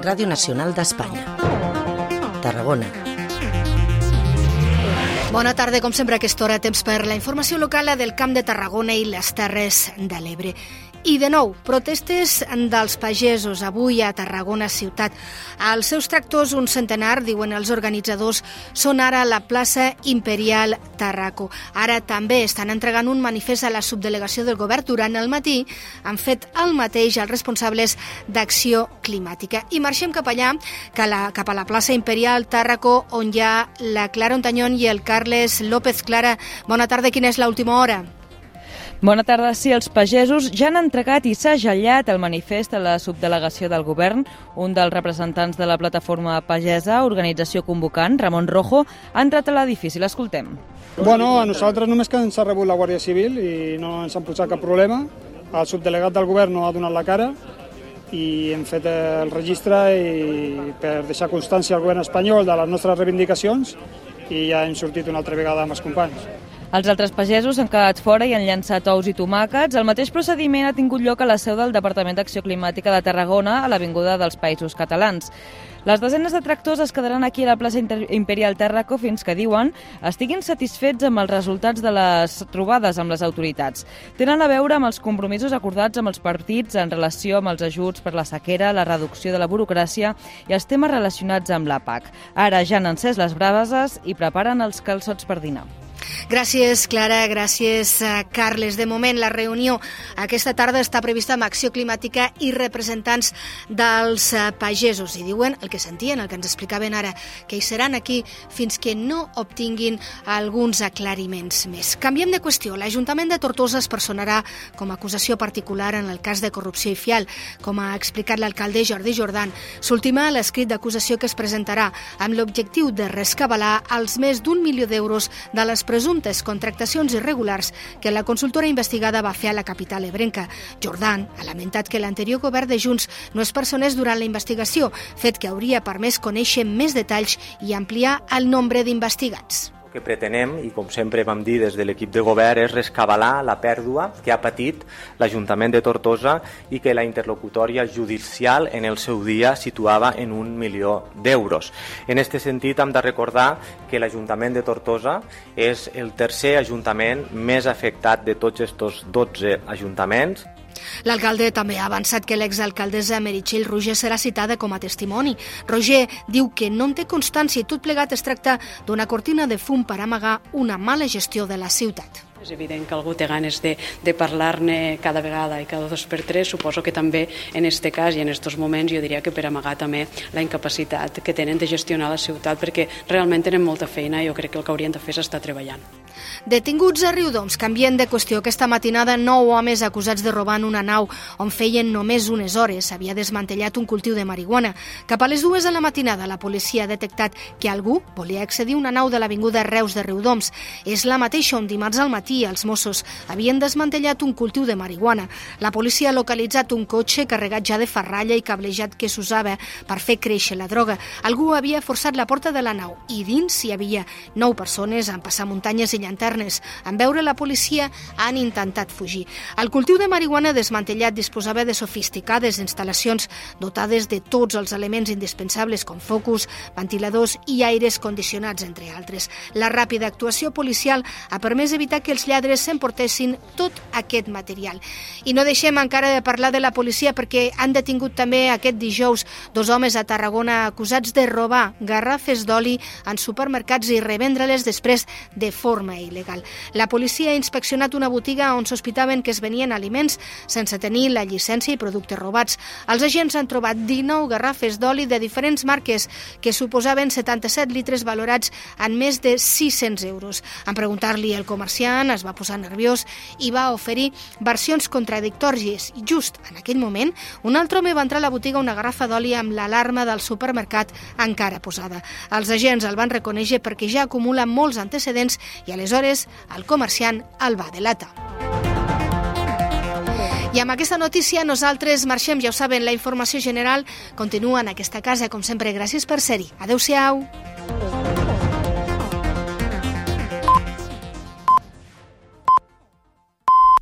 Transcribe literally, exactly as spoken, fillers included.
Ràdio Nacional d'Espanya. Tarragona. Bona tarda, com sempre a aquesta hora, temps per la informació local del Camp de Tarragona i les Terres de l'Ebre. I de nou, protestes dels pagesos avui a Tarragona ciutat. Els seus tractors, un centenar, diuen els organitzadors, són ara a la plaça Imperial Tarraco. Ara també estan entregant un manifest a la subdelegació del govern. Durant el matí han fet el mateix els responsables d'Acció Climàtica. I marxem cap allà, cap a la plaça Imperial Tarraco, on hi ha la Clara Ontañón i el Carles López. Clara, bona tarda, quina és l'última hora? Bona tarda. Sí, els pagesos ja han entregat i s'ha gellat el manifest a la subdelegació del govern. Un dels representants de la plataforma pagesa, organització convocant, Ramon Rojo, ha entrat a l'edifici. L'escoltem. Bueno, a nosaltres només que ens ha rebut la Guàrdia Civil i no ens han posat cap problema. El subdelegat del govern no ha donat la cara i hem fet el registre i per deixar constància al govern espanyol de les nostres reivindicacions i ja hem sortit una altra vegada amb els companys. Els altres pagesos han quedat fora i han llançat ous i tomàquets. El mateix procediment ha tingut lloc a la seu del Departament d'Acció Climàtica de Tarragona, a l'Avinguda dels Països Catalans. Les desenes de tractors es quedaran aquí a la plaça Imperial Tarraco fins que, diuen, estiguin satisfets amb els resultats de les trobades amb les autoritats. Tenen a veure amb els compromisos acordats amb els partits en relació amb els ajuts per la sequera, la reducció de la burocràcia i els temes relacionats amb la P A C. Ara ja han encès les brases i preparen els calçots per dinar. Gràcies, Clara, gràcies, Carles. De moment, la reunió aquesta tarda està prevista amb Acció Climàtica i representants dels pagesos. I diuen el que sentien, el que ens explicaven ara, que hi seran aquí fins que no obtinguin alguns aclariments més. Canviem de qüestió. L'Ajuntament de Tortosa es personarà com a acusació particular en el cas de corrupció i fial, com ha explicat l'alcalde Jordi Jordan. S'ultima l'escrit d'acusació que es presentarà amb l'objectiu de rescabalar els més d'un milió d'euros de les presumptes contractacions irregulars que la consultora investigada va fer a la capital ebrenca. Jordan ha lamentat que l'anterior govern de Junts no es personés durant la investigació, fet que hauria permès conèixer més detalls i ampliar el nombre d'investigats. El que pretenem, i com sempre vam dir des de l'equip de govern, és rescabalar la pèrdua que ha patit l'Ajuntament de Tortosa i que la interlocutòria judicial en el seu dia situava en un milió d'euros. En aquest sentit, hem de recordar que l'Ajuntament de Tortosa és el tercer ajuntament més afectat de tots aquests dotze ajuntaments. L'alcalde també ha avançat que l'exalcaldessa Meritxell Roger serà citada com a testimoni. Roger diu que no en té constància i tot plegat es tracta d'una cortina de fum per amagar una mala gestió de la ciutat. És evident que algú té ganes de, de parlar-ne cada vegada i cada dos per tres. Suposo que també en aquest cas i en aquests moments jo diria que per amagar també la incapacitat que tenen de gestionar la ciutat, perquè realment tenen molta feina i jo crec que el que haurien de fer és estar treballant. Detinguts a Riudoms. Canvien de qüestió. Aquesta matinada, nou homes acusats de robar en una nau on feien només unes hores. S'havia desmantellat un cultiu de marihuana. Cap a les dues de la matinada, la policia ha detectat que algú volia accedir a una nau de l'Avinguda Reus de Riudoms. És la mateixa on dimarts al matí els Mossos havien desmantellat un cultiu de marihuana. La policia ha localitzat un cotxe carregat ja de ferralla i cablejat que s'usava per fer créixer la droga. Algú havia forçat la porta de la nau i dins hi havia nou persones en passar muntanyes i llanternes. En veure la policia han intentat fugir. El cultiu de marihuana desmantellat disposava de sofisticades instal·lacions dotades de tots els elements indispensables com focus, ventiladors i aires condicionats, entre altres. La ràpida actuació policial ha permès evitar que els lladres s'emportessin tot aquest material. I no deixem encara de parlar de la policia perquè han detingut també aquest dijous dos homes a Tarragona acusats de robar garrafes d'oli en supermercats i revendre-les després de forma il·legal. La policia ha inspeccionat una botiga on sospitaven que es venien aliments sense tenir la llicència i productes robats. Els agents han trobat dinou garrafes d'oli de diferents marques que suposaven setanta-set litres valorats en més de sis-cents euros. En preguntar-li al comerciant es va posar nerviós i va oferir versions contradictòries. Just en aquell moment, un altre home va entrar a la botiga una garrafa d'oli amb l'alarma del supermercat encara posada. Els agents el van reconèixer perquè ja acumula molts antecedents i aleshores el comerciant el va delatar. I amb aquesta notícia nosaltres marxem, ja ho saben, la informació general continua en aquesta casa, com sempre. Gràcies per ser-hi. Adéu-siau.